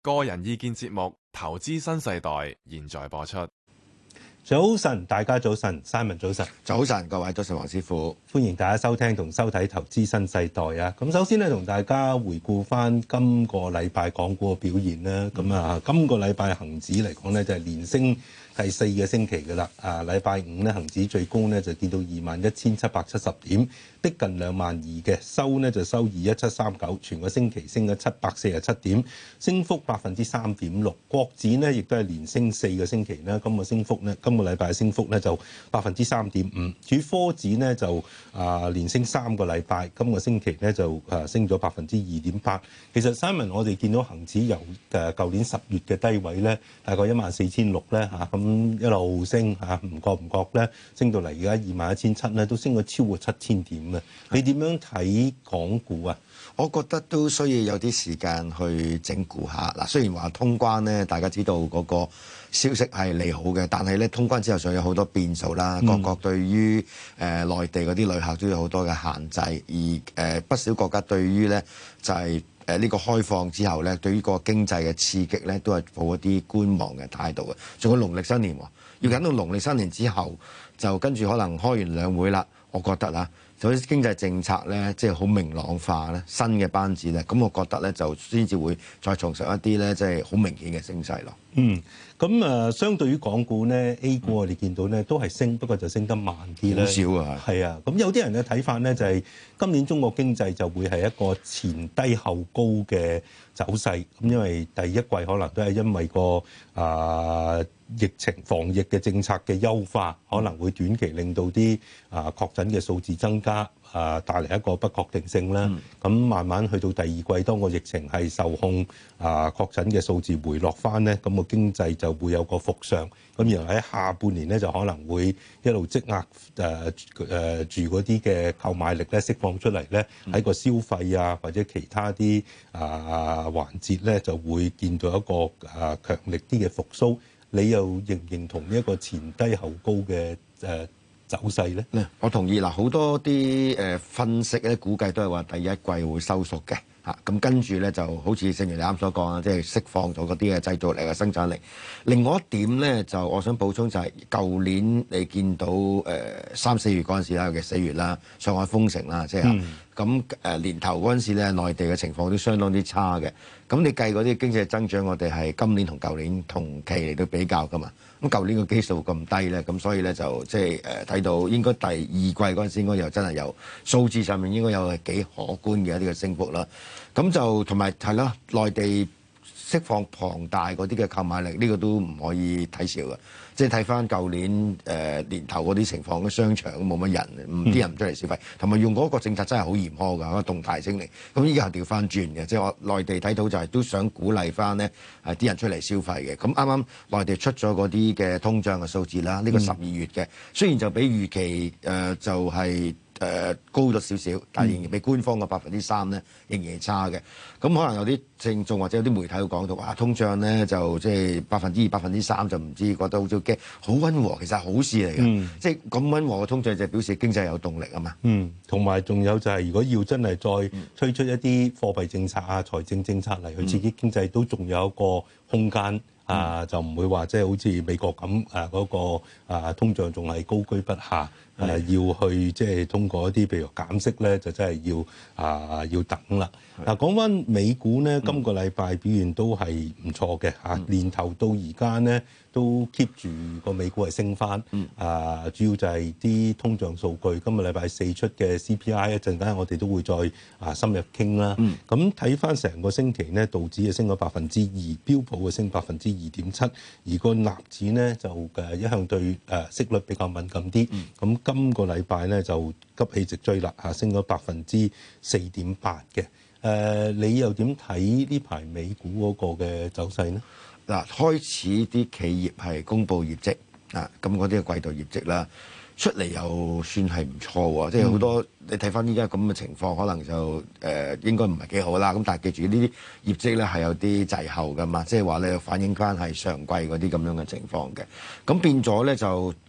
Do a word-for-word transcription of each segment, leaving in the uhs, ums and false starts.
個人意見節目《投資新世代》現在播出。 早晨，大家早晨 ，Simon 早晨， 早晨，各位早晨，黃師傅， 歡迎大家收聽同收睇《投資新世代》啊！咁首先咧，同大家回顧翻今個禮拜港股嘅表現啦。咁啊，今個禮拜恒指嚟講咧，就係連升第四個星期㗎啦。啊，禮拜五咧，恒指最高咧就見到二萬一千七百七十點，逼近兩萬二嘅，收呢就收二一七三九，全個星期升咗七百四十七點，升幅百分之三點六。國指呢亦都係連升四個星期啦，今個升幅呢，今個禮拜嘅升幅呢就百分之三點五。至於科指呢就啊、呃、連升三個禮拜，今個星期呢就啊升咗百分之二點八。其實 Simon 我哋見到恒指由誒舊年十月嘅低位呢，大概一萬四千六咧嚇，咁一路升嚇，唔覺唔覺咧升到嚟而家二萬一千七咧，都升咗超過七千點。你點樣睇港股啊？ 我覺得都需要有啲時間去整固下。嗱，雖然話通關咧，大家知道嗰個消息係利好嘅，但係咧通關之後上有好多變數啦。各國對於誒、呃、內地嗰啲旅客都有好多嘅限制，而誒、呃、不少國家對於咧就係誒呢個開放之後咧，對於個經濟嘅刺激咧，都係抱一啲觀望嘅態度嘅。仲有農曆新年，要等到農曆新年之後，就跟住可能開完兩會啦。我覺得啊。所以經濟政策咧，即係好明朗化咧，新嘅班子咧，咁我覺得咧就先至會再重拾一啲咧，即係好明顯嘅升勢咯。 嗯，咁誒，相對於港股咧 ，A 股我哋見到咧都係升，不過就升得慢啲咧。 好少啊， 係啊，咁有啲人嘅睇法咧就係今年中國經濟就會係一個前低後高嘅走勢，咁因為第一季可能都係因為個啊、呃、疫情防疫嘅政策嘅優化，可能會短期令到啲啊確診嘅數字增加。啊，帶嚟一個不確定性啦。咁、嗯、慢慢去到第二季，當個疫情係受控，啊確診嘅數字回落翻咧，咁個經濟就會有個復上。咁然後喺下半年咧，就可能會一路積壓誒誒住嗰啲嘅購買力咧釋放出嚟咧，喺個消費啊或者其他啲啊環節咧，就會見到一個啊強力啲嘅復甦。你又認唔認同呢一個前低後高嘅誒走勢咧？ 我同意嗱，好多啲誒分析咧，估計都係話第一季會收縮嘅嚇，咁跟住咧就好似正如你啱所講啊，即係釋放咗嗰啲嘅製造力嘅生產力。另外一點咧，就我想補充就係舊年你見到誒三四月嗰陣時啦，尤其四月啦，上海封城啦，即係咁誒年頭嗰陣時咧，內地嘅情況都相當之差嘅。咁你計嗰啲經濟增長，我哋係今年同舊年同期嚟到比較噶嘛？咁舊年個基數咁低咧，咁所以咧就即係誒睇到應該第二季嗰陣時應該又真係有數字上面應該有係幾可觀嘅一啲嘅升幅啦。咁就同埋係啦，內地釋放龐大嗰啲嘅購買力，呢、這個都唔可以睇少嘅。即係睇翻舊年誒、呃、年頭嗰啲情況，嘅商場冇乜人，唔啲人唔出嚟消費，同埋用嗰個政策真係好嚴苛㗎，嗰個動態清零。咁依家係調翻轉嘅，即係我內地睇到就係都想鼓勵翻咧係啲人出嚟消費嘅。咁啱啱內地出咗嗰啲嘅通脹嘅數字啦，呢、這個十二月嘅，雖然就比預期誒、呃、就係、是。誒、呃、高咗少少，但係仍然比官方嘅百分之三咧，仍然係差嘅。咁可能有啲聽眾或者有啲媒體會講到，哇，通脹咧就即係百分之二、百分之三就唔知覺得好似驚，好溫和，其實係好事嚟嘅。嗯、即係咁溫和嘅通脹就表示經濟有動力啊嘛。 嗯，同埋仲有就係、是、如果要真係再推出一啲貨幣政策啊、財政政策嚟去刺激經濟，都仲有一個空間。啊，嗯、就唔會話即係好似美國咁啊嗰、那個啊通脹仲係高居不下，誒、啊、要去即係通過一啲譬如減息咧，就真係要啊要等啦。嗱，講翻美股咧，今個禮拜表現都係唔錯嘅嚇，嗯、年頭到而家咧都 keep 住個美股係升翻。嗯、啊，主要就係啲通脹數據，今個禮拜四出嘅 C P I 一陣間我哋都會再啊深入傾啦。咁睇翻成個星期咧，道指係升咗百分之二，標普係升百分之二點七，而個納指咧就誒一向對誒息率比較敏感啲。咁、嗯、今個禮拜咧就急起直追啦，嚇升咗百分之四點八嘅。誒、呃，你又點睇呢排美股嗰個嘅走勢呢？ 嗱，開始啲企業係公布業績啊，咁嗰啲嘅季度業績啦，出嚟又算係唔錯喎，即係好多你睇翻依家咁嘅情況，可能就誒、呃、應該唔係幾好啦。咁但係記住呢啲業績咧係有啲滯後噶嘛，即係話咧反映翻係上季嗰啲咁樣嘅情況嘅。咁變咗咧就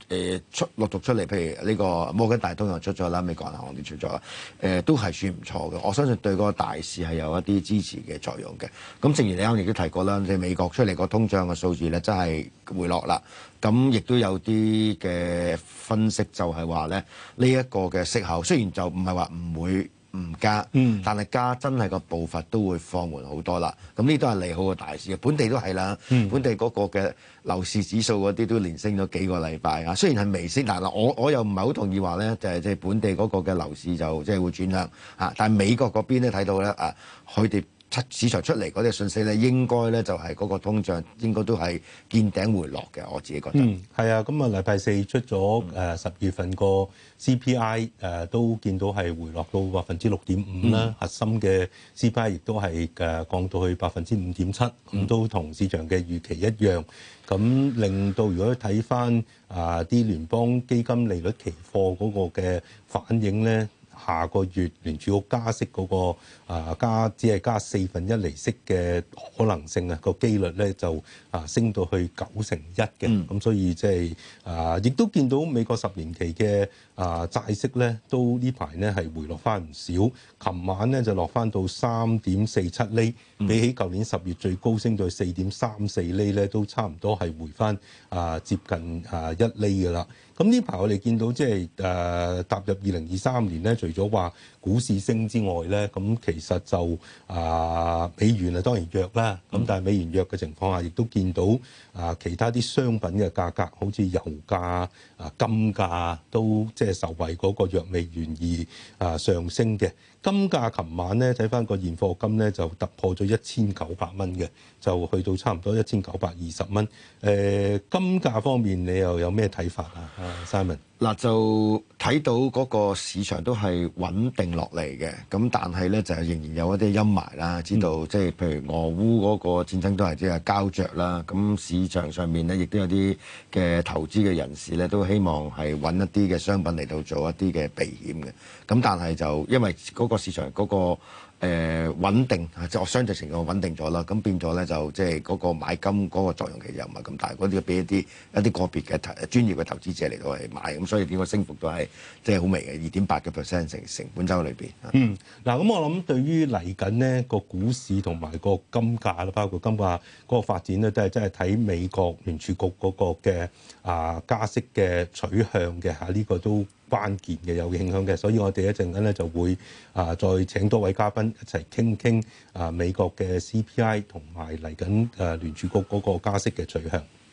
誒出陸續出嚟，譬如呢個摩根大通又出咗啦，美國銀行都出咗啦，誒、呃、都係算唔錯嘅。我相信對嗰個大市係有一啲支持嘅作用嘅。咁正如你啱亦都提過啦，即係美國出嚟個通脹嘅數字咧，真係回落啦。咁亦都有啲嘅分析就係話咧，呢一個嘅息口雖然就唔係話唔會唔加，嗯、但係加真係個步伐都會放緩好多啦。咁呢都係利好個大市嘅，本地都係啦。嗯、本地嗰個嘅樓市指數嗰啲都連升咗幾個禮拜啊。雖然係微升，但係我我又唔係好同意話咧，就係即係本地嗰個嘅樓市就即係會轉向啊。但係美國嗰邊咧睇到咧啊，佢哋市場出嚟嗰啲信息咧，應該咧就係嗰個通脹應該都係見頂回落嘅，我自己覺得。 嗯，係啊，咁啊禮拜四出咗誒十月份個 C P I 誒、呃、都見到係回落到百分之六點五啦，嗯、核心嘅 C P I 亦都係誒降到去百分之五點七，咁都同市場嘅預期一樣。咁令到如果睇翻啊啲聯邦基金利率期貨嗰個嘅反應咧，下個月聯儲局加息嗰、那個啊加只係加四分一厘息嘅可能性啊，個機率咧就啊升到去九成一嘅，咁、嗯、所以即係啊亦都見到美國十年期嘅啊債息咧都呢排咧係回落翻唔少，琴晚咧就落翻到三點四七厘，嗯、比起舊年十月最高升到四點三四厘咧，都差唔多係回翻啊接近啊一厘㗎啦。咁呢排我哋見到即係誒踏入二零二三年咧，除咗話股市升之外咧，咁其實就啊、呃、美元啊當然弱啦。咁、嗯、但係美元弱嘅情況下，亦都見到啊、呃、其他啲商品嘅價格，好似油價啊、金價都即係受惠嗰個弱美元而啊、呃、上升嘅。金價琴晚咧睇翻個現貨金咧就突破咗一千九百蚊嘅，就去到差唔多一千九百二十蚊。誒、呃、金價方面你又有咩睇法啊？啊，Simon， 嗱就睇到嗰個市場都係穩定落嚟嘅，咁但係咧就係仍然有一啲陰霾啦。知道即係譬如俄烏嗰個戰爭都係即係膠着啦，咁市場上面咧亦都有啲嘅投資嘅人士咧都希望係揾一啲嘅商品嚟到做一啲嘅避險嘅，咁但係就因為嗰個市場嗰個誒穩定啊，即係我相對程度穩定咗啦，咁變咗咧就即係嗰個買金嗰個作用其實又唔係咁大，嗰啲俾一啲一啲個別嘅投專業嘅投資者嚟到係買，咁所以點個升幅都係即係好微嘅，二點八個 percent 成成本週裏邊。 嗯，嗱咁我諗對於嚟緊呢個股市同埋個金價啦，包括金價嗰個發展咧，都係真係睇美國聯儲局嗰個嘅啊加息嘅取向嘅嚇，呢個都關鍵嘅有影響嘅，所以我哋一陣間咧就會啊再請多位嘉賓一齊傾傾啊美國嘅 C P I 同埋嚟緊誒聯儲局嗰個加息嘅取向。